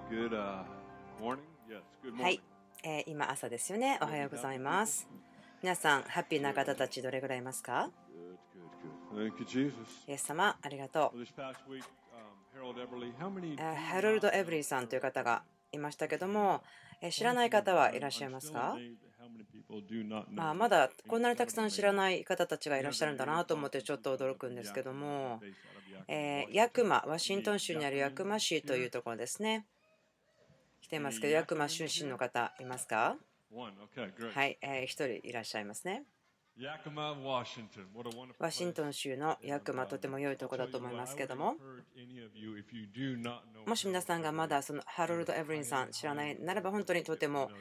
Good morning. Yes, good は morning. い、今朝ですよね。おはようございます。皆さん、ハッピーな方たちどれぐらいいますか？ Good. Thank you, Jesus. イエス様、ありがと Well, this past week, Harold Everly, how many う。 do ハロルド・エブリーさんという方がいましたけども、知らない方はいらっしゃいますか？ amazed at how many people do not know ま this だこんなにたくさん incredible 知ら man. ない方たちがいらっしゃるんだなと思ってちょっと驚くんですけども、ヤクマ、ワシントン州にあるヤクマ市というところですね。来てますけど、ヤクマ出身の方いますか？ One. Okay, great. はい、一人いらっしゃいますね。 Yakima, Washington. What a wonderful ワシン place. トン州のヤクマ、とても良いところだと思いますけども、 Any of you, if you do not know もし皆さんがまだそのハロルド・エブリンさん知らないならば本当にとても、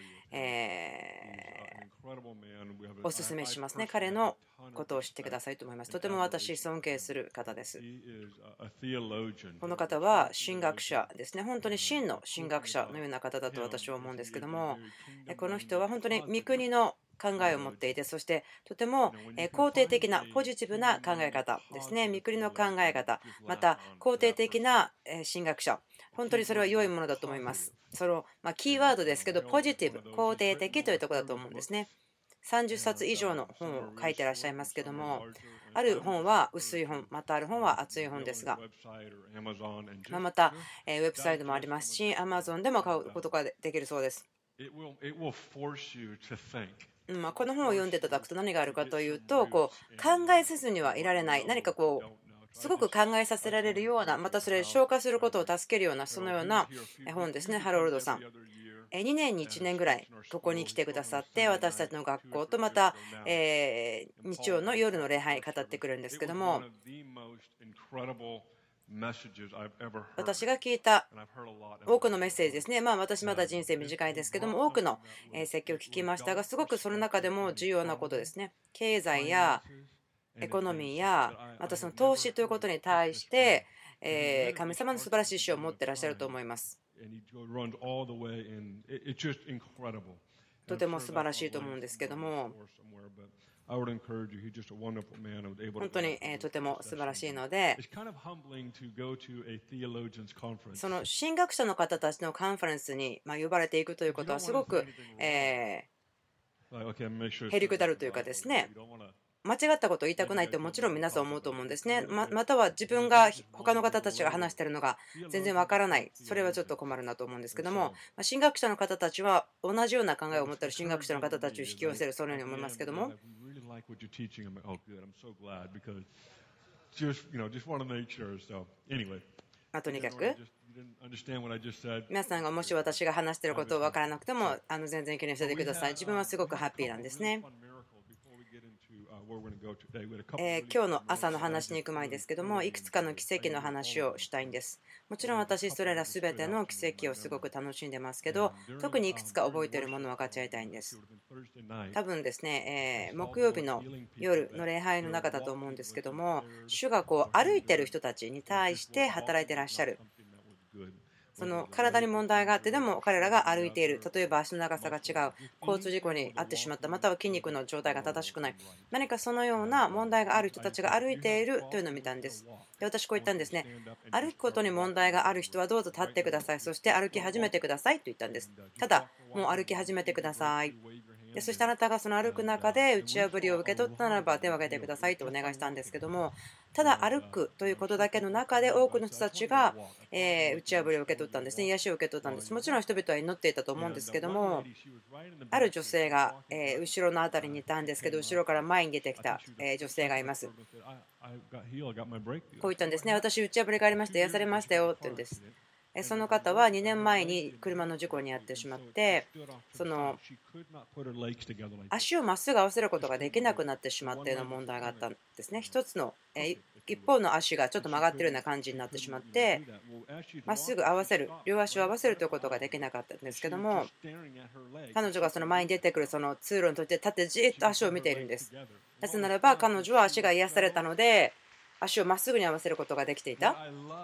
おすすめしますね。彼のことを知ってくださいと思います。とても私尊敬する方です。この方は神学者ですね。本当に真の神学者のような方だと私は思うんですけども、この人は本当に御国の考えを持っていて、そしてとても肯定的なポジティブな考え方ですね。御国の考え方、また肯定的な神学者、本当にそれは良いものだと思います。そのキーワードですけど、ポジティブ、肯定的というところだと思うんですね。30冊以上の本を書いてらっしゃいますけども、ある本は薄い本、またある本は厚い本ですが、またウェブサイトもありますし、Amazon でも買うことができるそうです。この本を読んでいただくと何があるかというと、考えせずにはいられない、何かすごく考えさせられるような、またそれ消化することを助けるような、そのような本ですね。ハロルドさん、2年に1年ぐらいここに来てくださって、私たちの学校とまた日曜の夜の礼拝語ってくるんですけども、私が聞いた多くのメッセージですね。私まだ人生短いですけども、多くの説教を聞きましたが、すごくその中でも重要なことですね。経済やエコノミーや、またその投資ということに対して、神様の素晴らしい意志を持っていらっしゃると思います。とても素晴らしいと思うんですけども、本当にとても素晴らしいので、その神学者の方たちのカンファレンスに呼ばれていくということはすごくへりくだるというかですね、間違ったことを言いたくないってもちろん皆さん思うと思うんですね。または自分が他の方たちが話しているのが全然わからない。それはちょっと困るなと思うんですけども、神学者の方たちは同じような考えを持っている神学者の方たちを引き寄せる、そのように思いますけども。とにかく皆さんがもし私が話していることを分からなくても全然気にしててください。自分はすごくハッピーなんですね。今日の朝の話に行く前ですけども、いくつかの奇跡の話をしたいんです。もちろん私それら全ての奇跡をすごく楽しんでますけど、特にいくつか覚えているものを分かち合いたいんです。多分ですね、木曜日の夜の礼拝の中だと思うんですけども、主が歩いている人たちに対して働いていらっしゃる。その体に問題があってでも彼らが歩いている、例えば足の長さが違う、交通事故に遭ってしまった、または筋肉の状態が正しくない、何かそのような問題がある人たちが歩いているというのを見たんです。で、私こう言ったんですね。歩くことに問題がある人はどうぞ立ってください、そして歩き始めてくださいと言ったんです。ただもう歩き始めてください。でそしてあなたがその歩く中で打ち破りを受け取ったならば手を挙げてくださいとお願いしたんですけども、ただ歩くということだけの中で多くの人たちが打ち破りを受け取ったんですね。癒しを受け取ったんです。もちろん人々は祈っていたと思うんですけども、ある女性が後ろの辺りにいたんですけど、後ろから前に出てきた女性がいます。こう言ったんですね。私打ち破りがありました、癒されましたよって言うんです。その方は2年前に車の事故に遭ってしまって、その足をまっすぐ合わせることができなくなってしまったような問題があったんですね。一つの一方の足がちょっと曲がっているような感じになってしまって、まっすぐ合わせる、両足を合わせるということができなかったんですけども、彼女がその前に出てくるその通路にとって立ってじっと足を見ているんです。なぜならば彼女は足が癒されたので、足をまっすぐに合わせることができていた。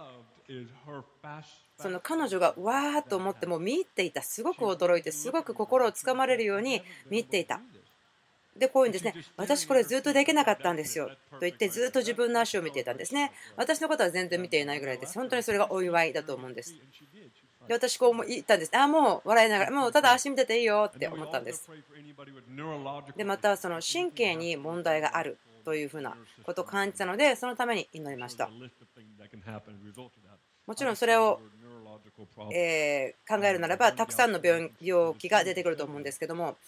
その彼女がわーっと思っても見入っていた。すごく驚いて、すごく心をつかまれるように見入っていた。で、こういうんですね。私これずっとできなかったんですよと言ってずっと自分の足を見ていたんですね。私のことは全然見ていないぐらいです。本当にそれがお祝いだと思うんです。 で私こう言ったんです。もう笑いながら、もうただ足見てていいよって思ったんです。でまたその神経に問題があるというふうなことを感じたので、そのために祈りました。もちろんそれを考えるならばたくさんの病気が出てくると思うんですけども、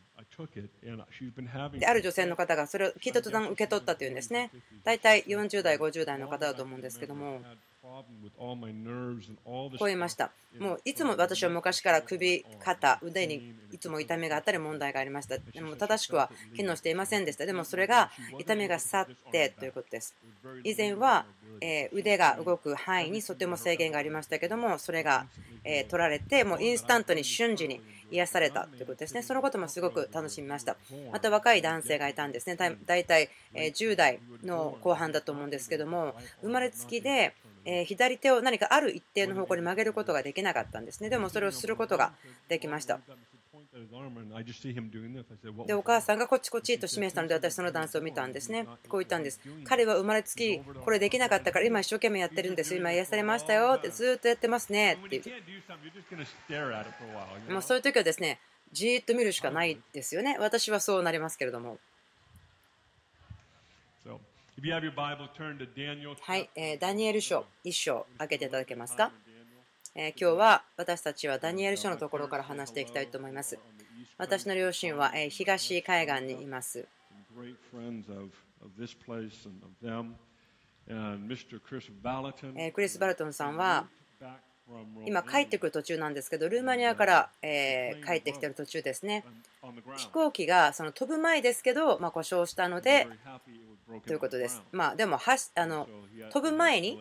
である女性の方がそれを聞いた途端受け取ったというんですね。大体40代、50代の方だと思うんですけども、こう言いました。もういつも私は昔から首、肩、腕にいつも痛みがあったり問題がありました。でも正しくは機能していませんでした。でもそれが痛みが去ってということです。以前は腕が動く範囲にとても制限がありましたけども、それが取られて、もうインスタントに瞬時に癒されたということですね。そのこともすごく楽しみました。また若い男性がいたんですね。だいたい10代の後半だと思うんですけども、生まれつきで左手を何かある一定の方向に曲げることができなかったんですね。でもそれをすることができました。で、お母さんがこっちこっちと示したので、私そのダンスを見たんですね。こう言ったんです。彼は生まれつきこれできなかったから今一生懸命やってるんです。今癒されましたよってずっとやってますねって言う。もうそういう時はですね、じーっと見るしかないですよね。私はそうなりますけれども。はい、ダニエル書1章開けていただけますか。今日は私たちはダニエル書のところから話していきたいと思います。私の両親は東海岸にいます。クリス・バルトンさんは今帰ってくる途中なんですけど、ルーマニアから帰ってきてる途中ですね。飛行機がその飛ぶ前ですけど、故障したのでということです。でも飛ぶ前に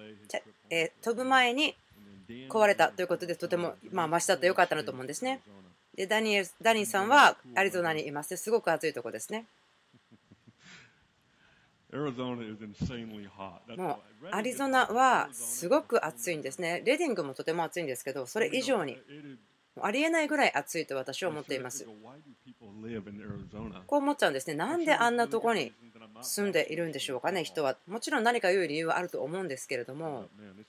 壊れたということで、とてもマシだったよかったなと思うんですね。でダニーさんはアリゾナにいます。すごく暑いところですね。もうアリゾナはすごく暑いんですね。レディングもとても暑いんですけど、それ以上にありえないぐらい暑いと私は思っています。こう思っちゃうんですね。なんであんなところに住んでいるんでしょうかね、人は。もちろん何か良い理由はあると思うんですけれども、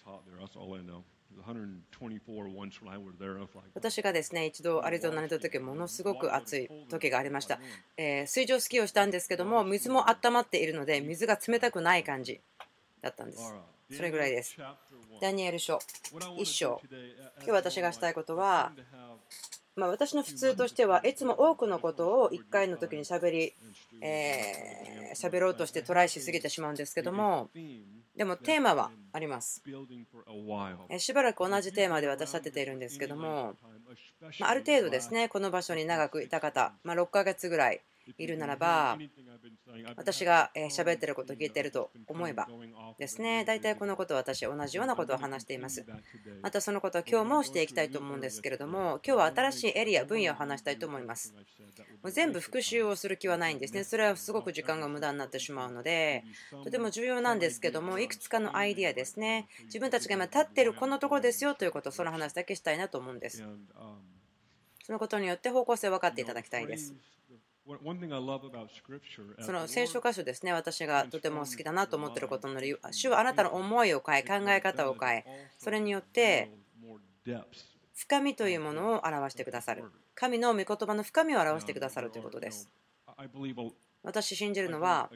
私がですね、一度アリゾナにいた時、ものすごく暑い時がありました。水上スキーをしたんですけども、水も温まっているので、水が冷たくない感じだったんです。それぐらいです。ダニエル書1章。今日私がしたいことは、私の普通としてはいつも多くのことを1回の時に喋ろうとしてトライしすぎてしまうんですけども、でもテーマはあります。しばらく同じテーマで私立てているんですけども、ある程度ですね、この場所に長くいた方、6ヶ月ぐらいいるならば、私が喋っていることを聞いていると思えばですね、大体このことは私同じようなことを話しています。またそのことは今日もしていきたいと思うんですけれども、今日は新しいエリア、分野を話したいと思います。もう全部復習をする気はないんですね。それはすごく時間が無駄になってしまうので、とても重要なんですけども、いくつかのアイディアですね、自分たちが今立っているこのところですよということ、その話だけしたいなと思うんです。そのことによって方向性を分かっていただきたいです。その聖書箇所ですね、私がとても好きだなと思っていることの理由、主はあなたの思いを変え、考え方を変え、それによって深みというものを表してくださる。神の御言葉の深みを表してくださるということです。私信じるのは、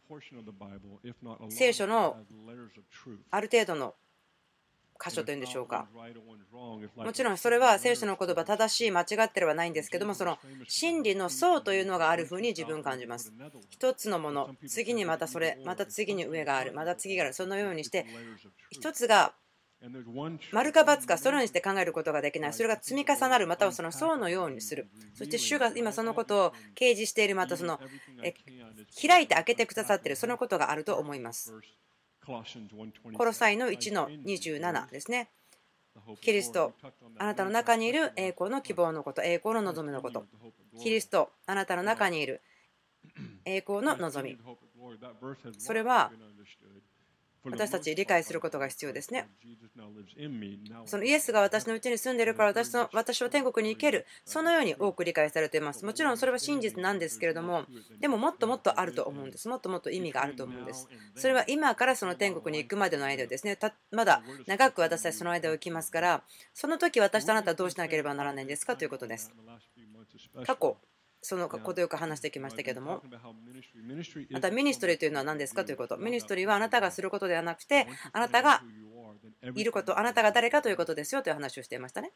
聖書のある程度の箇所というんでしょうか。もちろんそれは聖書の言葉正しい間違ってればないんですけども、その真理の層というのがあるふうに自分感じます。一つのもの、次にまたそれ、また次に上がある、また次がある、そのようにして一つが丸か×かそのようにして考えることができない。それが積み重なる、またはその層のようにする。そして主が今そのことを掲示している、またその開いて開けてくださっている、そのことがあると思います。コロサイの1の27ですね。キリスト、あなたの中にいる栄光の希望のこと、栄光の望みのこと。キリスト、あなたの中にいる栄光の望み。それは私たち理解することが必要ですね。そのイエスが私のうちに住んでいるから私は天国に行ける、そのように多く理解されています。もちろんそれは真実なんですけれども、でももっともっとあると思うんです。もっともっと意味があると思うんです。それは今からその天国に行くまでの間ですね。まだ長く私たちその間を行きますから、その時私とあなたはどうしなければならないんですかということです。過去そのことよく話してきましたけれども、またミニストリーというのは何ですかということ。ミニストリーはあなたがすることではなくて、あなたがいること、あなたが誰かということですよという話をしていましたね。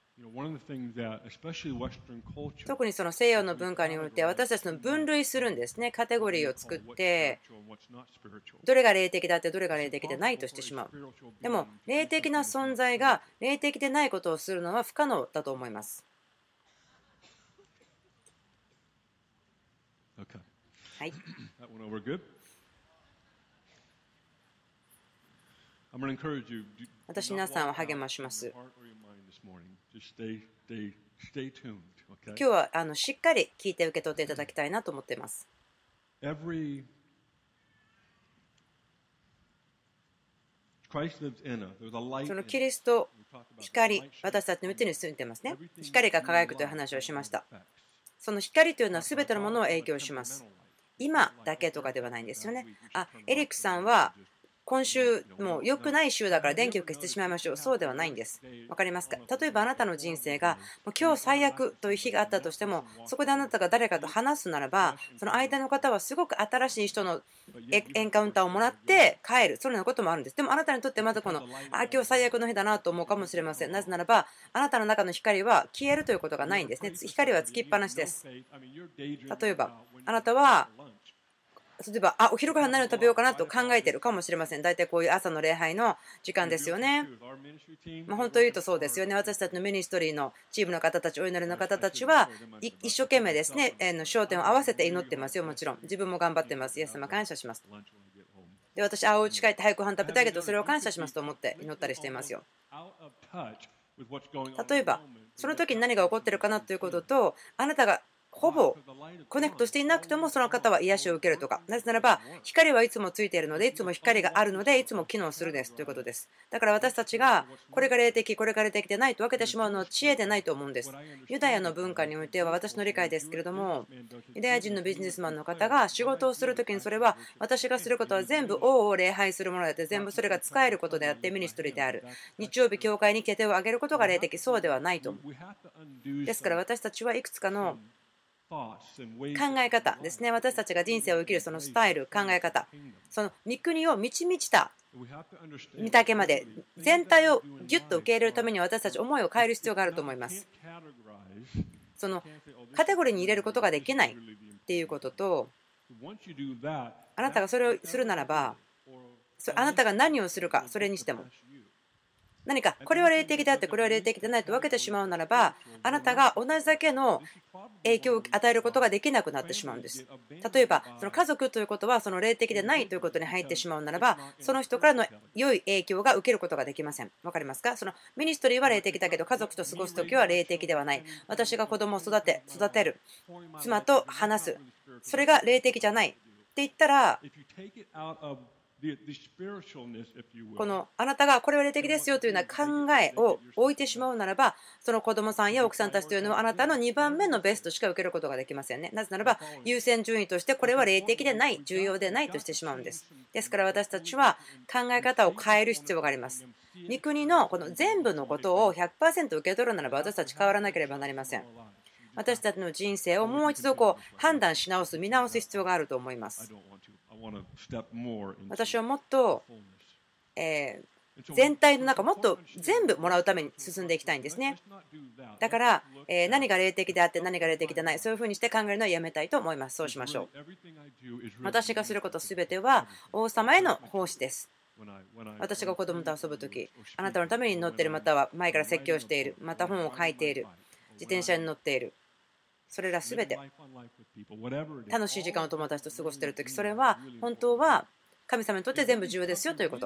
特にその西洋の文化において私たちの分類するんですね。カテゴリーを作って、どれが霊的だってどれが霊的でないとしてしまう。でも霊的な存在が霊的でないことをするのは不可能だと思います。はい。私、皆さんを励まします。今日はしっかり聞いて受け取っていただきたいなと思っています。そのキリスト、光、私たちのうちに住んでいますね。光が輝くという話をしました。その光というのは全てのものを影響します。今だけとかではないんですよね。エリックさんは今週もう良くない週だから電気を消してしまいましょう。そうではないんです。わかりますか？例えばあなたの人生がもう今日最悪という日があったとしても、そこであなたが誰かと話すならば、その相手の方はすごく新しい人のエンカウンターをもらって帰る、そのようなこともあるんです。でもあなたにとってまた今日最悪の日だなと思うかもしれません。なぜならばあなたの中の光は消えるということがないんですね。光はつきっぱなしです。例えばあなたは例えばお昼ご飯何を食べようかなと考えているかもしれません。大体こういう朝の礼拝の時間ですよね。本当に言うとそうですよね。私たちのミニストリーのチームの方たち、お祈りの方たちは一生懸命ですね、焦点を合わせて祈ってますよ。もちろん自分も頑張ってます。イエス様感謝します。で、私お家帰って早くご飯食べたいけどそれを感謝しますと思って祈ったりしていますよ。例えばその時に何が起こっているかなということと、あなたがほぼコネクトしていなくてもその方は癒しを受けるとか、なぜならば光はいつもついているので、いつも光があるのでいつも機能するですということです。だから私たちがこれが霊的、これが霊的でないと分けてしまうのは知恵でないと思うんです。ユダヤの文化においては私の理解ですけれども、ユダヤ人のビジネスマンの方が仕事をするときに、それは私がすることは全部王を礼拝するものであって、全部それが使えることであってミニストリーである。日曜日教会に手を挙げることが霊的、そうではないと思う。ですから私たちはいくつかの考え方ですね。私たちが人生を生きるそのスタイル、考え方、その御国を満ち満ちた御岳まで全体をギュッと受け入れるために私たち思いを変える必要があると思います。そのカテゴリーに入れることができないっていうことと、あなたがそれをするならば、あなたが何をするか、それにしても何かこれは霊的であってこれは霊的でないと分けてしまうならば、あなたが同じだけの影響を与えることができなくなってしまうんです。例えばその家族ということはその霊的でないということに入ってしまうならば、その人からの良い影響が受けることができません。分かりますか？そのミニストリーは霊的だけど家族と過ごすときは霊的ではない。私が子供を育てる、妻と話す、それが霊的じゃないって言ったら、このあなたがこれは霊的ですよというような考えを置いてしまうならば、その子供さんや奥さんたちというのはあなたの2番目のベストしか受けることができませんね。なぜならば優先順位としてこれは霊的でない、重要でないとしてしまうんです。ですから私たちは考え方を変える必要があります。御国のこの全部のことを 100% 受け取るならば私たち変わらなければなりません。私たちの人生をもう一度判断し直す、見直す必要があると思います。私はもっと全体の中、もっと全部もらうために進んでいきたいんですね。だから何が霊的であって何が霊的でない、そういうふうにして考えるのはやめたいと思います。そうしましょう。私がすることすべては王様への奉仕です。私が子供と遊ぶとき、あなたのために乗っている、または前から説教している、また本を書いている、自転車に乗っている、それらすべて楽しい時間を友達と過ごしているとき、それは本当は神様にとって全部重要ですよということ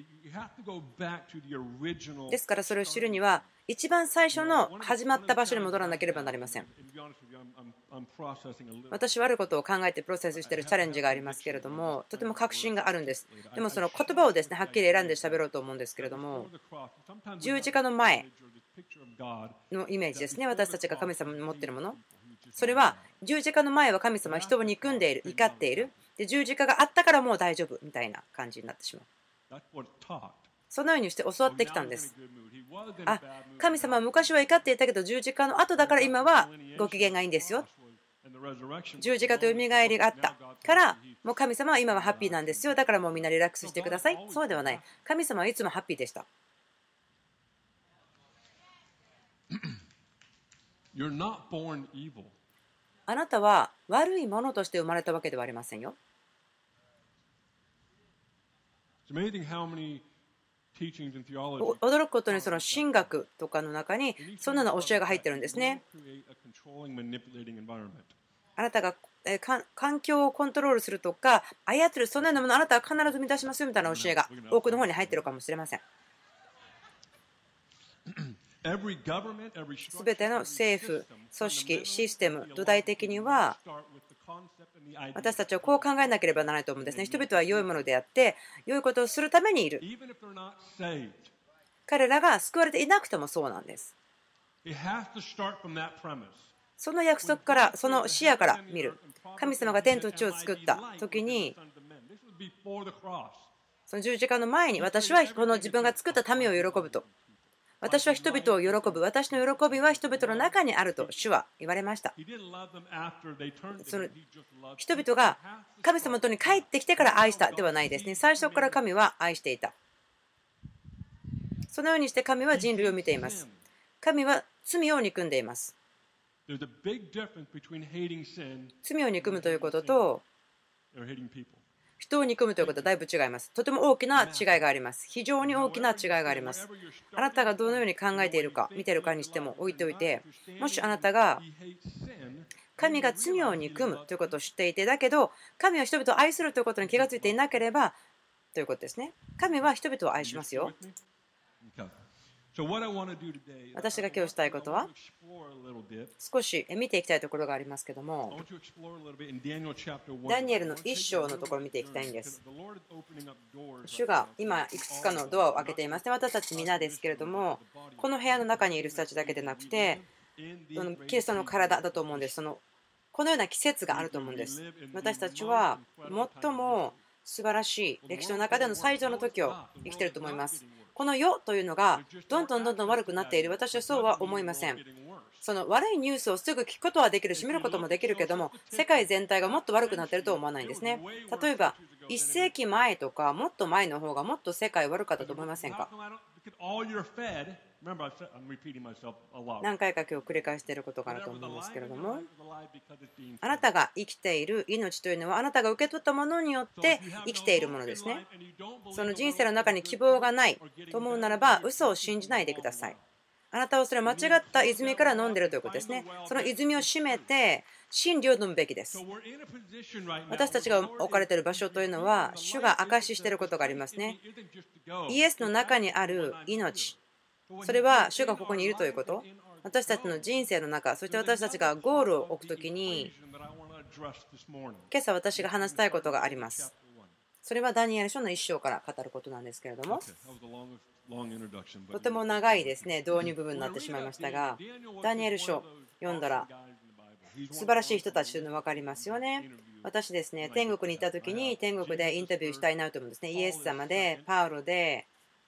ですから、それを知るには一番最初の始まった場所に戻らなければなりません。 私はあることを考えてプロセスしているチャレンジがありますけれども、とても確信があるんです。でもその言葉をですね、はっきり選んで喋ろうと思うんですけれども、十字架の前のイメージですね、私たちが神様に持っているもの。それは十字架の前は神様は人を憎んでいる、怒っている。で、十字架があったからもう大丈夫みたいな感じになってしまう。そのようにして教わってきたんです。あ、神様は昔は怒っていたけど十字架の後だから今はご機嫌がいいんですよ。十字架と蘇りがあったからもう神様は今はハッピーなんですよ。だからもうみんなリラックスしてください。そうではない。神様はいつもハッピーでした。あなたは悪いものとして生まれたわけではありませんよ。驚くことにその神学とかの中にそんなの教えが入ってるんですね。あなたが環境をコントロールするとか操るそんなようなものあなたは必ず生み出しますよみたいな教えが多くの方に入っているかもしれません。すべての政府、組織、システム、土台的には私たちはこう考えなければならないと思うんですね。人々は良いものであって、良いことをするためにいる。彼らが救われていなくてもそうなんです。その約束から、その視野から見る。神様が天と地を作った時に、その十字架の前に私はこの自分が作った民を喜ぶと。私は人々を喜ぶ。私の喜びは人々の中にあると主は言われました。その人々が神様のとに帰ってきてから愛したではないですね。最初から神は愛していた。そのようにして神は人類を見ています。神は罪を憎んでいます。罪を憎むということと人を憎むということはだいぶ違います。とても大きな違いがあります。非常に大きな違いがあります。あなたがどのように考えているか、見ているかにしても置いておいて、もしあなたが神が罪を憎むということを知っていて、だけど神は人々を愛するということに気がついていなければということですね。神は人々を愛しますよ。私が今日したいことは少し見ていきたいところがありますけども、ダニエルの1章のところを見ていきたいんです。主が今いくつかのドアを開けていますね。私たち皆ですけれども、この部屋の中にいる人たちだけでなくてキリストの体だと思うんです。このような季節があると思うんです。私たちは最も素晴らしい歴史の中での最上の時を生きていると思います。この世というのがどんどん悪くなっている。私はそうは思いません。その悪いニュースをすぐ聞くことはできるし見ることもできるけども、世界全体がもっと悪くなっているとは思わないんですね。例えば1世紀前とかもっと前の方がもっと世界悪かったと思いませんか？何回か今日繰り返していることがあると思うんですけれども、あなたが生きている命というのはあなたが受け取ったものによって生きているものですね。その人生の中に希望がないと思うならば嘘を信じないでください。あなたはそれは間違った泉から飲んでいるということですね。その泉を閉めて真理を飲むべきです。私たちが置かれている場所というのは主が証ししていることがありますね。イエスの中にある命、それは主がここにいるということ。私たちの人生の中、そして私たちがゴールを置くときに、今朝私が話したいことがあります。それはダニエル書の1章から語ることなんですけれども、とても長いですね、導入部分になってしまいましたが、ダニエル書読んだら素晴らしい人たちというの分かりますよね。私ですね、天国にいた時に天国でインタビューしたいなと思うんですね。イエス様で、パウロで、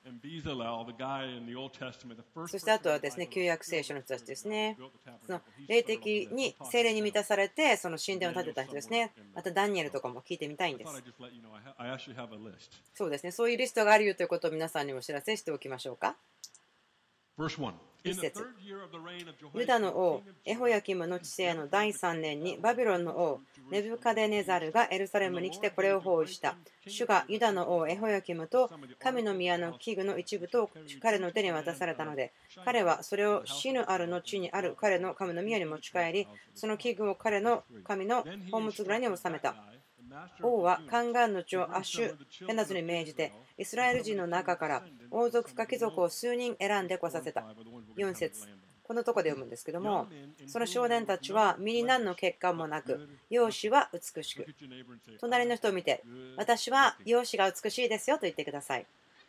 そしてあとはですね、旧約聖書の人たちですね。その霊的に聖霊に満たされて、その神殿を建てた人ですね。またダニエルとかも聞いてみたいんです。そうですね、そういうリストがあるよということを皆さんにもお知らせしておきましょうか。一節、ユダの王エホヤキムの治世の第3年にバビロンの王ネブカデネザルがエルサレムに来てこれを包囲した。主がユダの王エホヤキムと神の宮の器具の一部と彼の手に渡されたので、彼はそれを死ぬあるの地にある彼の神の宮に持ち帰り、その器具を彼の神の宝物蔵に収めた。王はカンガンの長アッシュペナズに命じてイスラエル人の中から王族か貴族を数人選んで来させた。4節、 このところで読むんですけども、その少年たちは身に何の欠陥もなく、容姿は美しく。隣の人を見て、私は容姿が美しいですよと言ってください。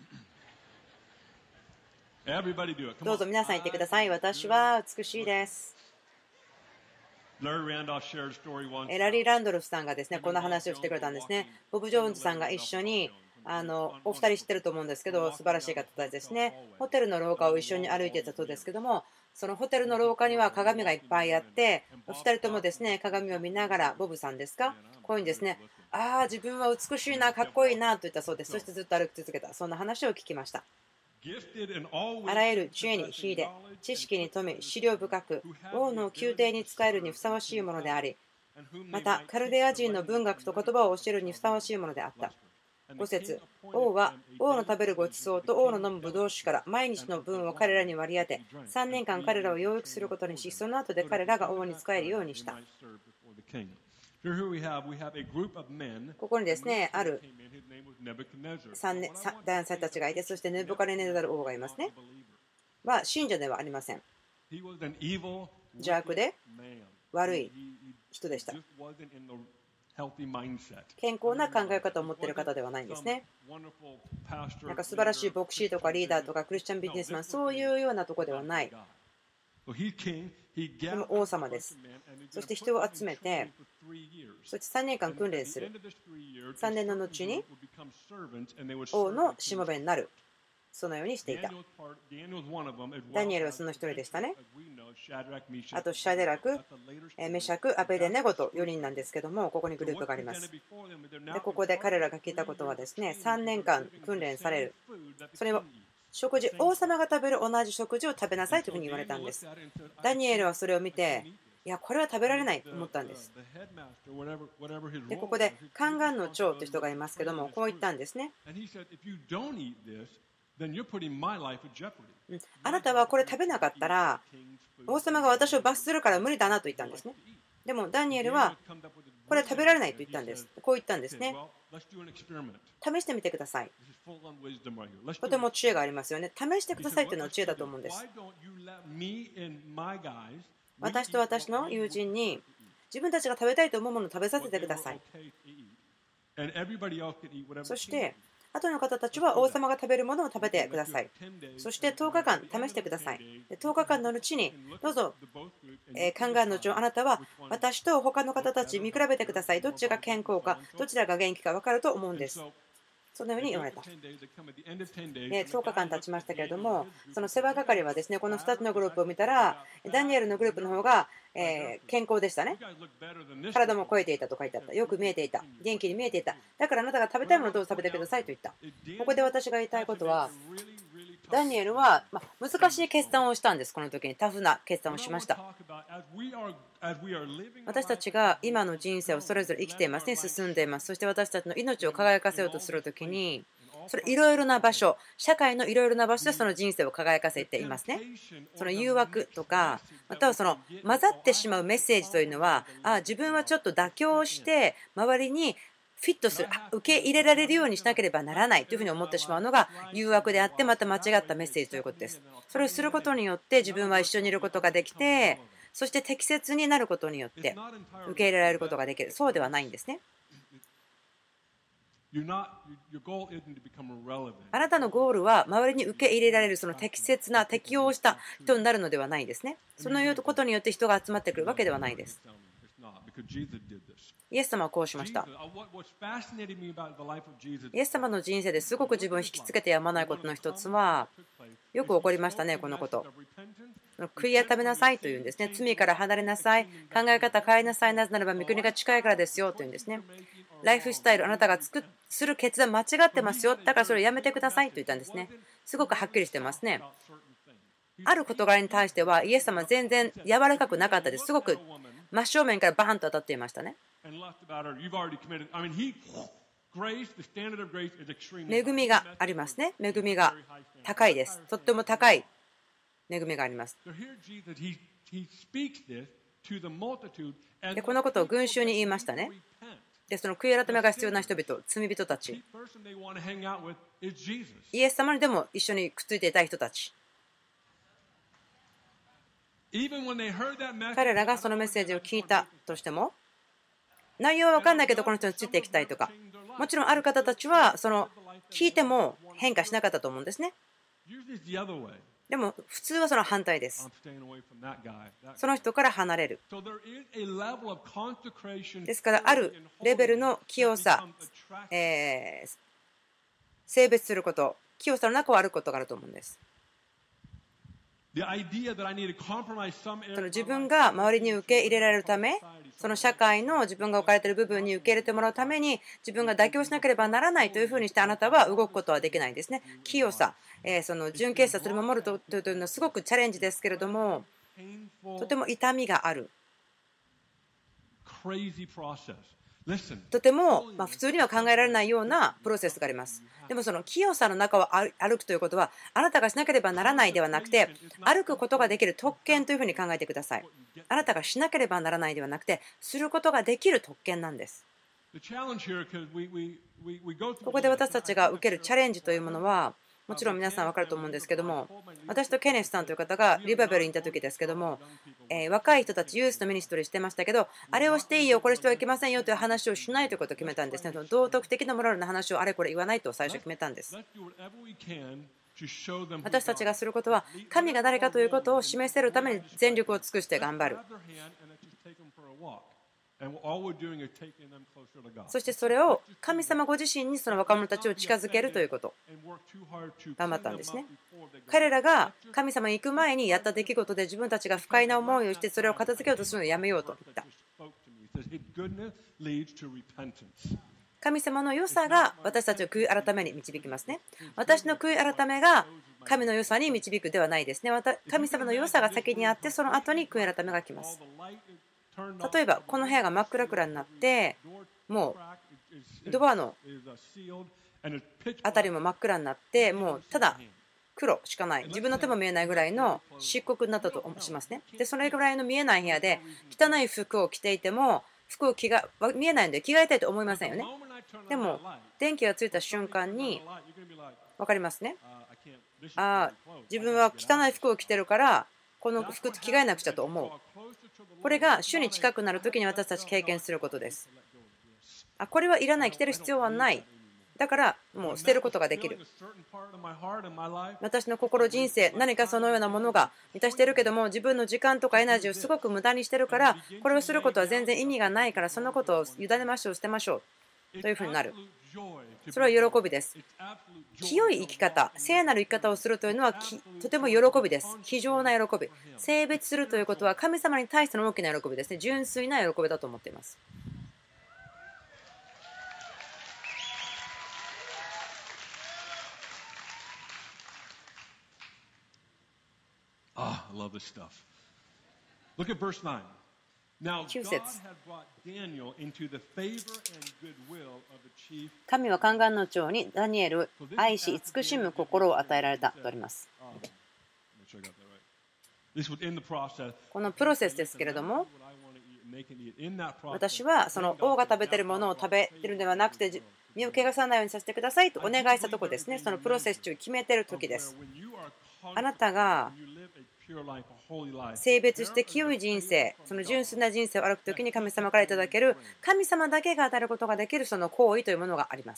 どうぞ皆さん言ってください。私は美しいです。ラリー・ランドルフさんがですね、こんな話をしてくれたんですね。ボブ・ジョーンズさんが一緒にお二人知ってると思うんですけど、素晴らしい方たちですね。ホテルの廊下を一緒に歩いていたそうですけども、そのホテルの廊下には鏡がいっぱいあって、お二人ともですね、鏡を見ながら、ボブさんですか、こういうんですね、ああ、自分は美しいな、かっこいいなと言ったそうです。そしてずっと歩き続けた、そんな話を聞きました。あらゆる知恵に秀で、知識に富み、思慮深く、王の宮廷に仕えるにふさわしいものであり、またカルデア人の文学と言葉を教えるにふさわしいものであった。5節、王は王の食べるごちそうと王の飲むブドウ酒から毎日の分を彼らに割り当て、3年間彼らを養育することにし、その後で彼らが王に仕えるようにした。ここにですね、ある男性たちがいて、そしてネブカネネザル王がいますね。は信者ではありません。邪悪で悪い人でした。健康な考え方を持っている方ではないんですね。なんか素晴らしい牧師とかリーダーとかクリスチャンビジネスマン、そういうようなところではない。この王様です。そして人を集めて、そして3年間訓練する。3年の後に王のしもべになる。そのようにしていた。ダニエルはその一人でしたね。あとシャデラク、メシャク、アベデネゴと4人なんですけども、ここにグループがあります。でここで彼らが聞いたことはですね、3年間訓練される。それを食事、王様が食べる同じ食事を食べなさいというふうに言われたんです。ダニエルはそれを見て、いや、これは食べられないと思ったんです。でここでカンガンの長という人がいますけども、こう言ったんですね。あなたはこれ食べなかったら王様が私を罰するから無理だなと言ったんですね。でもダニエルはこれ食べられないと言ったんです。こう言ったんですね。試してみてください。とても知恵がありますよね。試してくださいというのは知恵だと思うんです。私と私の友人に自分たちが食べたいと思うものを食べさせてください。そして後の方たちは王様が食べるものを食べてください。そして10日間試してください。10日間のうちにどうぞ、カンガンの長、あなたは私と他の方たち見比べてください。どっちが健康か、どちらが元気か分かると思うんです。そのように言われた。10日間経ちましたけれども、その世話係はですね、この2つのグループを見たら、ダニエルのグループの方が健康でしたね。体も超えていたと書いてあった。よく見えていた。元気に見えていた。だからあなたが食べたいものをどうぞ食べてくださいと言った。ここで私が言いたいことは、ダニエルは難しい決断をしたんです。この時にタフな決断をしました。私たちが今の人生をそれぞれ生きていますね。進んでいます。そして私たちの命を輝かせようとする時に、それいろいろな場所、社会のいろいろな場所でその人生を輝かせていますね。その誘惑とか、またはその混ざってしまうメッセージというのは、自分はちょっと妥協して周りにフィットする、受け入れられるようにしなければならないというふうに思ってしまうのが誘惑であって、また間違ったメッセージということです。それをすることによって自分は一緒にいることができて、そして適切になることによって受け入れられることができる。そうではないんですね。あなたのゴールは周りに受け入れられる、その適切な適応した人になるのではないんですね。そのいうことによって人が集まってくるわけではないです。イエス様はこうしました。イエス様の人生ですごく自分を引きつけてやまないことの一つは、よく起こりましたね、このこと。悔い改めなさいというんですね。罪から離れなさい。考え方変えなさい。なぜならば御国が近いからですよというんですね。ライフスタイル、あなたがする決断間違ってますよ。だからそれをやめてくださいと言ったんですね。すごくはっきりしてますね。ある事柄に対してはイエス様は全然柔らかくなかったです。すごく真正面からバーンと当たっていましたね。恵みがありますね。恵みが高いです。とっても高い恵みがあります。でこのことを群衆に言いましたね。でその悔い改めが必要な人々、罪人たち、イエス様にでも一緒にくっついていた人たち、 彼らがそのメッセージを聞いたとしても、内容は分かんないけどこの人についていきたいとか、もちろんある方たちはその聞いても変化しなかったと思うんですね。でも普通はその反対です。その人から離れる。ですからあるレベルの清さ、性別すること、清さの中を歩くことがあると思うんです。その自分が周りに受け入れられるため、その社会の自分が置かれている部分に受け入れてもらうために自分が妥協しなければならないというふうにしてあなたは動くことはできないんですね。清さ、その純潔さ、それを守るというのはすごくチャレンジですけれども、とても痛みがある。とても普通には考えられないようなプロセスがあります。でもその清さの中を歩くということは、あなたがしなければならないではなくて、歩くことができる特権というふうに考えてください。あなたがしなければならないではなくて、することができる特権なんです。ここで私たちが受けるチャレンジというものは、もちろん皆さん分かると思うんですけども、私とケネスさんという方がリバベルにいた時ですけども、若い人たちユースのミニストリーしてましたけど、あれをしていいよ、これしてはいけませんよという話をしないということを決めたんですね。道徳的なモラルの話をあれこれ言わないと最初決めたんです。私たちがすることは、神が誰かということを示せるために全力を尽くして頑張る。そしてそれを神様ご自身にその若者たちを近づけるということ、頑張ったんですね。彼らが神様に行く前にやった出来事で自分たちが不快な思いをしてそれを片付けようとするのをやめようと言った。神様の良さが私たちを悔い改めに導きますね。私の悔い改めが神の良さに導くではないですね。神様の良さが先にあって、その後に悔い改めが来ます。例えばこの部屋が真っ暗になって、もうドアの辺りも真っ暗になって、もうただ黒しかない、自分の手も見えないぐらいの漆黒になったとしますね。でそれぐらいの見えない部屋で汚い服を着ていても、服を見えないので着替えたいと思いませんよね。でも電気がついた瞬間に分かりますね。自分は汚い服を着てるからこの服着替えなくちゃと思う。これが主に近くなるときに私たち経験することです。これはいらない、着てる必要はない。だからもう捨てることができる。私の心、人生、何かそのようなものが満たしているけども、自分の時間とかエナジーをすごく無駄にしてるから、これをすることは全然意味がないから、そのことを委ねましょう、捨てましょうというふうになる。それは喜びです。清い生き方、聖なる生き方をするというのはとても喜びです。非常な喜び。性別するということは神様に対しての大きな喜びですね。純粋な喜びだと思っています。9節。神は宦官の長にダニエル愛し慈しむ心を与えられたとあります。このプロセスですけれども、私はその王が食べているものを食べているのではなくて、身を汚さないようにさせてくださいとお願いしたところですね。そのプロセス中決めている時です。あなたが性別して清い人生、その純粋な人生を歩くときに神様からいただける、神様だけが与えることができるその行為というものがあります。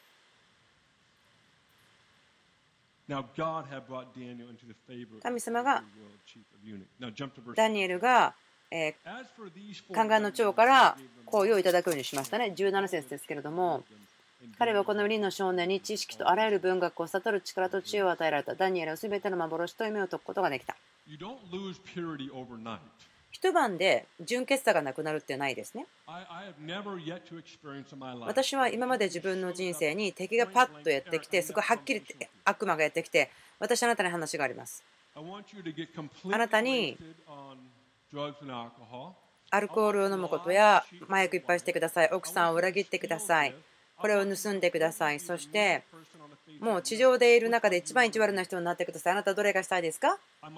神様がダニエルが宦官の長から行為をいただくようにしましたね。17節ですけれども、彼はこの4人の少年に知識とあらゆる文学を悟る力と知恵を与えられた。ダニエルはすべての幻と夢を解くことができた。一晩で純潔さがなくなるってないですね。私は今まで自分の人生に敵がパッとやってきて、すごいはっきり悪魔がやってきて、私あなたに話があります。あなたにアルコールを飲むことや麻薬いっぱいしてください。奥さんを裏切ってください。これを盗んでください。そしてもう地上でいる中で一番意地悪な人になってください。あなたはどれがしたいですか？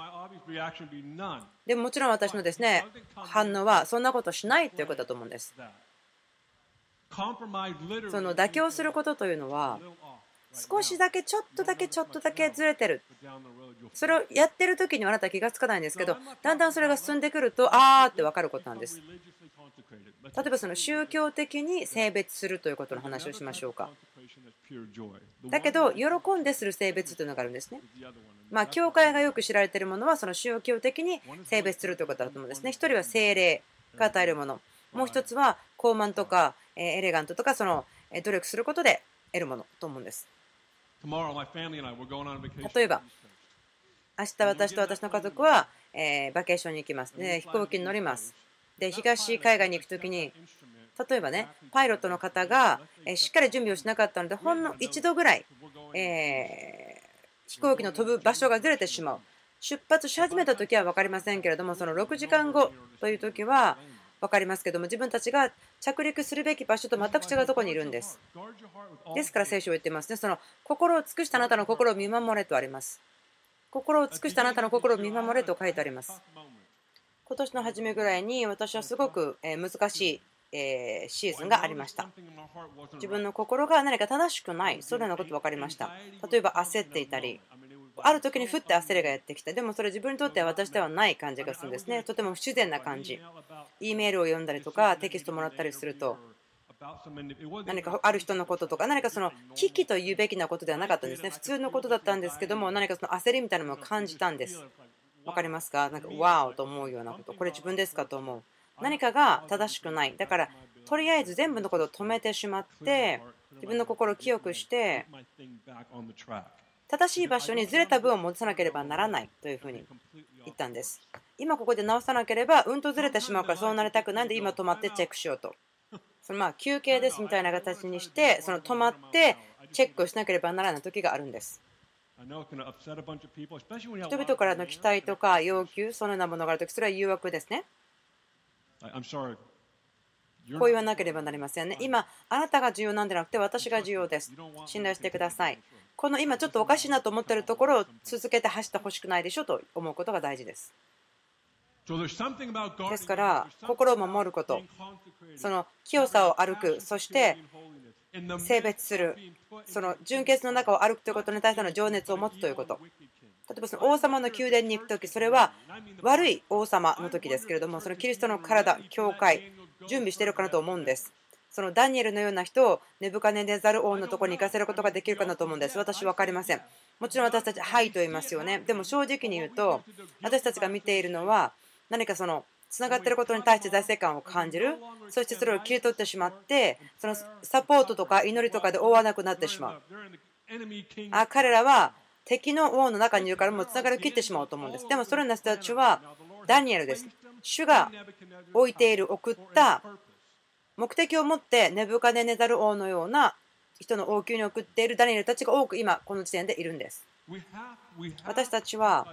でももちろん私のですね、反応はそんなことしないということだと思うんです。その妥協することというのは少しだけちょっとだけずれてる。それをやってる時にはあなたは気がつかないんですけど、だんだんそれが進んでくると、あーって分かることなんです。例えばその宗教的に性別するということの話をしましょうか。だけど喜んでする性別というのがあるんですね。教会がよく知られているものはその宗教的に性別するということだと思うんですね。一人は聖霊が与えるもの、もう一つは高慢とかエレガントとかその努力することで得るものと思うんです。例えば明日私と私の家族はバケーションに行きます。で飛行機に乗ります。で東海岸に行くときに例えばねパイロットの方がしっかり準備をしなかったのでほんの一度ぐらい飛行機の飛ぶ場所がずれてしまう。出発し始めた時は分かりませんけれどもその6時間後という時は分かりますけども自分たちが着陸するべき場所と全く違うところにいるんです。ですから聖書を言っていますね。その心を尽くしたあなたの心を見守れとあります。心を尽くしたあなたの心を見守れと書いてあります。今年の初めぐらいに私はすごく難しいシーズンがありました。自分の心が何か正しくない、そのようなこと分かりました。例えば焦っていたり、ある時にふって焦りがやってきた。でもそれ自分にとっては私ではない感じがするんですね。とても不自然な感じ。E メールを読んだりとかテキストもらったりすると、何かある人のこととか何かその危機と言うべきなことではなかったんですね。普通のことだったんですけども、何かその焦りみたいなのを感じたんです。わかりますか？なんかワーオと思うようなこと、これ自分ですかと思う。何かが正しくない。だからとりあえず全部のことを止めてしまって自分の心を清くして正しい場所にずれた分を戻さなければならないというふうに言ったんです。今ここで直さなければうんとずれてしまうからそうなりたくないんで今止まってチェックしようと。その休憩ですみたいな形にしてその止まってチェックをしなければならない時があるんです。人々からの期待とか要求そのようなものがあるときそれは誘惑ですね。こう言わなければなりませんね。今あなたが重要なんじゃなくて私が重要です。信頼してください。この今ちょっとおかしいなと思っているところを続けて走ってほしくないでしょと思うことが大事です。ですから心を守ること、その清さを歩く、そして性別する、その純潔の中を歩くということに対しての情熱を持つということ。例えばその王様の宮殿に行くとき、それは悪い王様の時ですけれども、そのキリストの体、教会、準備しているかなと思うんです。そのダニエルのような人をネブカネネザル王のところに行かせることができるかなと思うんです。私、分かりません。もちろん私たち、はいと言いますよね。でも正直に言うと、私たちが見ているのは、何かそのつながっていることに対して財政感を感じる、そしてそれを切り取ってしまって、そのサポートとか祈りとかで覆わなくなってしまう。彼らは敵の王の中にいるからもうつながりを切ってしまうと思うんです。でもそれらの人たちはダニエルです。主が置いている、送った目的を持ってネブカネネザル王のような人の王宮に送っているダニエルたちが多く今この時点でいるんです。私たちは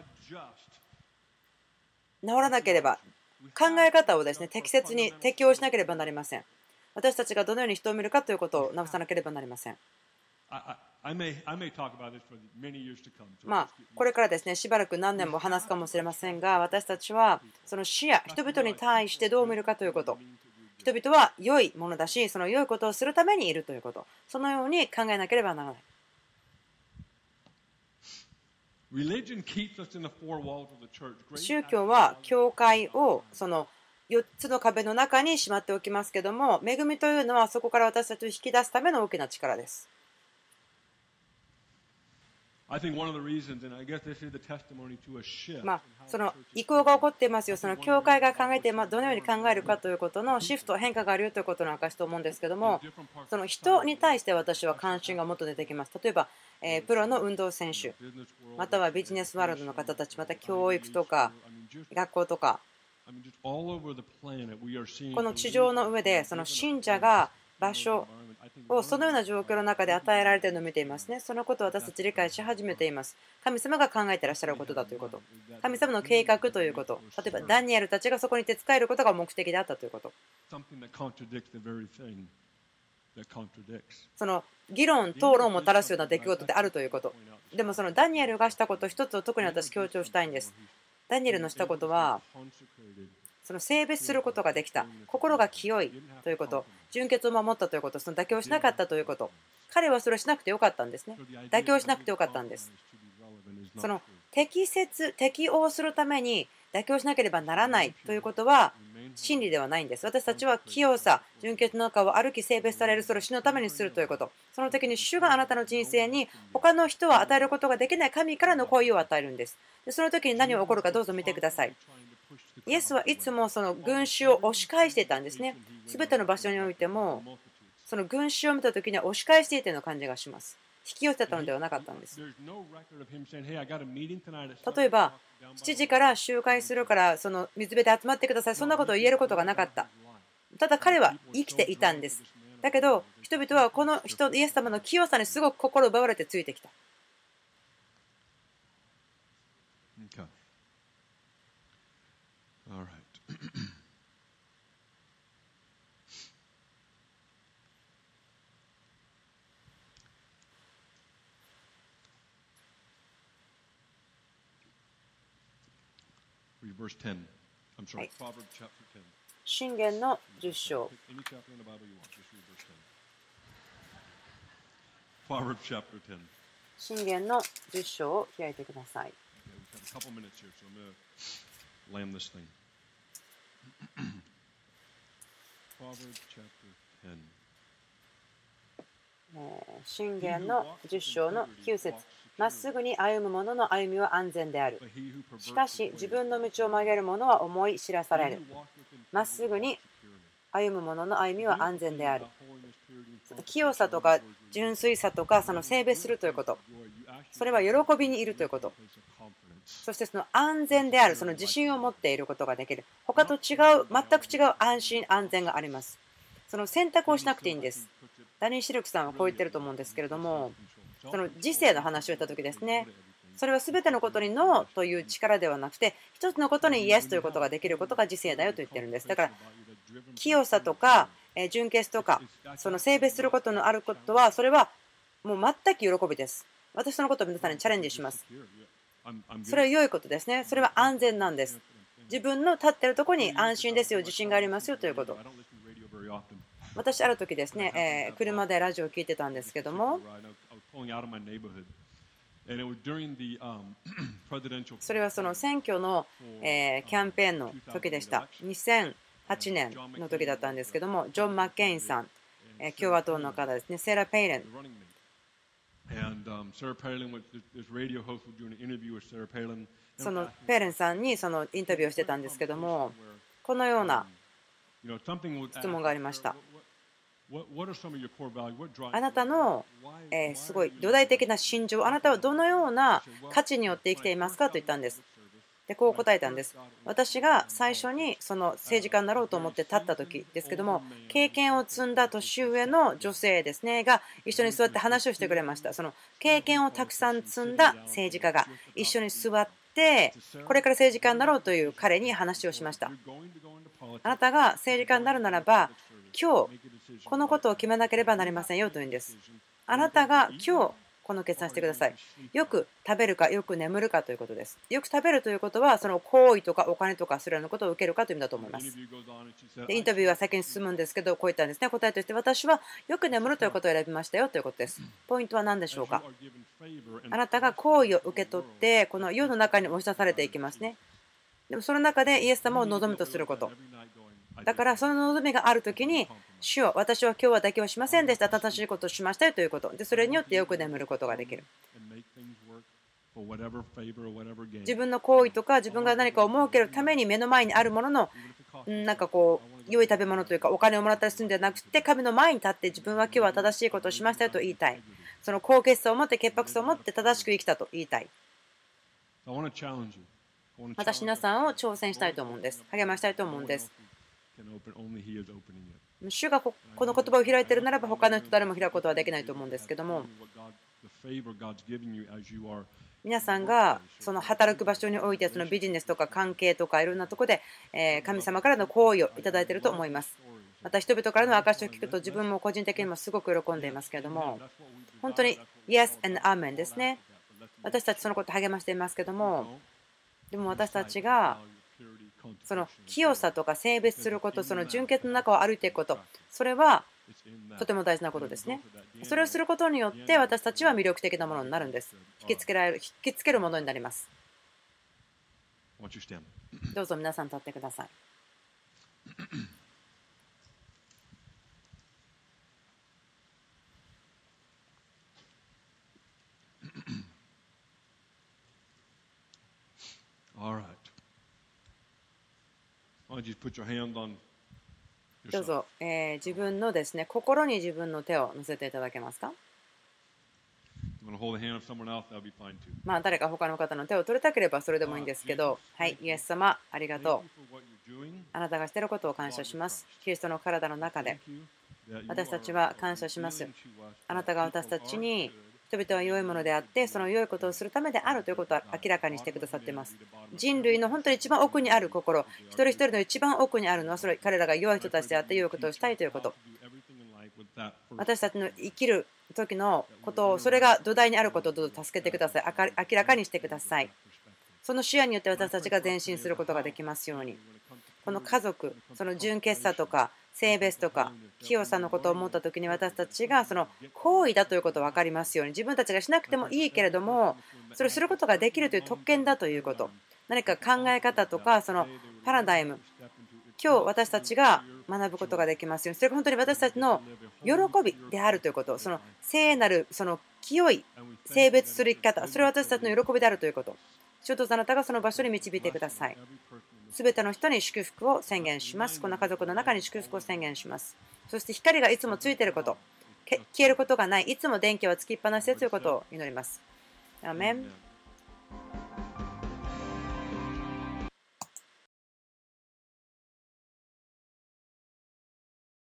治らなければ考え方をですね適切に適応しなければなりません。私たちがどのように人を見るかということを直さなければなりません。これからですねしばらく何年も話すかもしれませんが、私たちはその視野、人々に対してどう見るかということ、人々は良いものだし、その良いことをするためにいるということ、そのように考えなければならない。宗教は教会をその4つの壁の中にしまっておきますけども、恵みというのはそこから私たちを引き出すための大きな力です。その移行が起こっていますよ。その教会が考えてどのように考えるかということのシフト、変化があるよということの証と思うんですけども、その人に対して私は関心がもっと出てきます。例えばプロの運動選手、またはビジネスワールドの方たち、また教育とか学校とか、この地上の上でその信者が場所をそのような状況の中で与えられているのを見ていますね。そのことを私たち理解し始めています。神様が考えていらっしゃることだということ。神様の計画ということ。例えばダニエルたちがそこに手伝えることが目的であったということ。その議論、討論も垂らすような出来事であるということ。でもそのダニエルがしたこと一つを特に私強調したいんです。ダニエルのしたことはその性別することができた、心が清いということ、純潔を守ったということ、その妥協しなかったということ、 彼はそれをしなくてよかったんですね。妥協しなくてよかったんです。その適応するために妥協しなければならないということは真理ではないんです。私たちは清さ、純潔の中を歩き性別される、それを主のためにするということ。その時に主があなたの人生に他の人は与えることができない神からの声を与えるんです。でその時に何が起こるかどうぞ見てください。イエスはいつもその群衆を押し返していたんですね。すべての場所においても、その群衆を見た時には押し返していたような感じがします。引き寄せたのではなかったんです。例えば、7時から集会するからその水辺で集まってください。そんなことを言えることがなかった。ただ彼は生きていたんです。だけど人々はこの人、イエス様の清さにすごく心奪われてついてきた。 Okay. All right. Read verse 10. I'm sorry, Proverbs chapter 10. 箴言の10章。 Pick any chapter in the Bible you want. Just read verse 10. Proverbs chapter 10. 箴言の10章を開いてください。 Okay, we've got a couple minutes here, so I'm going to land this thing. Proverbs chapter 10. 箴言の10章の9節。まっすぐに歩む者の歩みは安全である。しかし自分の道を曲げる者は思い知らされる。まっすぐに歩む者の歩みは安全である。清さとか純粋さとかその性別するということ。それは喜びにいるということ。そしてその安全である、その自信を持っていることができる。他と違う、全く違う安心安全があります。その選択をしなくていいんです。ダニー・シルクさんはこう言ってると思うんですけれども、その時世の話をした時ですね。それは全てのことにノーという力ではなくて、一つのことにイエスということができることが時世だよと言ってるんです。だから清さとか純潔とかその性別することのあることは、それはもう全く喜びです。私そのことを皆さんにチャレンジします。それは良いことですね。それは安全なんです。自分の立っているところに安心ですよ、自信がありますよということ。私ある時ですね、車でラジオを聞いてたんですけども、それはその選挙のキャンペーンの時でした。2008年の時だったんですけども、ジョン・マッケインさん、共和党の方ですね、セラ・ペイレン。そのペイレンさんにそのインタビューをしてたんですけども、このような質問がありました。あなたのすごい土台的な心情、あなたはどのような価値によって生きていますかと言ったんです。でこう答えたんです。私が最初にその政治家になろうと思って立った時ですけども、経験を積んだ年上の女性ですねが一緒に座って話をしてくれました。その経験をたくさん積んだ政治家が一緒に座ってこれから政治家になろうという彼に話をしました。あなたが政治家になるならば今日このことを決めなければなりませんよというんです。あなたが今日この決断してください。よく食べるかよく眠るかということです。よく食べるということはその行為とかお金とかそれらのことを受けるかという意味だと思います。でインタビューは先に進むんですけど、こういったんですね。答えとして私はよく眠るということを選びましたよということです。ポイントは何でしょうか。あなたが行為を受け取ってこの世の中に押し出されていきますね。でもその中でイエス様を望むとすること。だからその望みがあるときに主よ、私は今日は妥協しませんでした。正しいことをしましたよということで、それによってよく眠ることができる。自分の行為とか自分が何かを設けるために目の前にあるもののなんかこう良い食べ物というかお金をもらったりするんじゃなくて、神の前に立って自分は今日は正しいことをしましたよと言いたい。その高潔さを持って潔白さを持って正しく生きたと言いたい。私皆さんを挑戦したいと思うんです。励ましたいと思うんです。主がこの言葉を開いているならば他の人誰も開くことはできないと思うんですけども、皆さんがその働く場所においてそのビジネスとか関係とかいろんなところで神様からの好意をいただいていると思います。また人々からの証しを聞くと自分も個人的にもすごく喜んでいますけれども、本当に Yes and Amen ですね。私たちそのことを励ましていますけども、でも私たちがその清さとか性別すること、その純潔の中を歩いていくこと、それはとても大事なことですね。それをすることによって私たちは魅力的なものになるんです。引きつけるものになります。どうぞ皆さん立ってください。どうぞ、自分のですね、心に自分の手を乗せていただけますか。誰か他の方の手を取りたければそれでもいいんですけど、はい、イエス様、ありがとう。あなたがしていることを感謝します。キリストの体の中で私たちは感謝します。あなたが私たちに人々は良いものであって、その良いことをするためであるということを明らかにしてくださっています。人類の本当に一番奥にある心、一人一人の一番奥にあるのは、それ彼らが良い人たちであって良いことをしたいということ。私たちの生きる時のことを、それが土台にあることをどうぞ助けてください。明らかにしてください。その視野によって私たちが前進することができますように。この家族、その純潔さとか性別とか清さのことを思った時に、私たちがその行為だということが分かりますように。自分たちがしなくてもいいけれども、それをすることができるという特権だということ。何か考え方とかそのパラダイム、今日私たちが学ぶことができますように。それが本当に私たちの喜びであるということ。その聖なる、その清い性別する生き方、それは私たちの喜びであるということ。主よ、どうぞあなたがその場所に導いてください。すべての人に祝福を宣言します。この家族の中に祝福を宣言します。そして光がいつもついていること、消えることがない、いつも電気はつきっぱなしでということを祈ります。アーメン。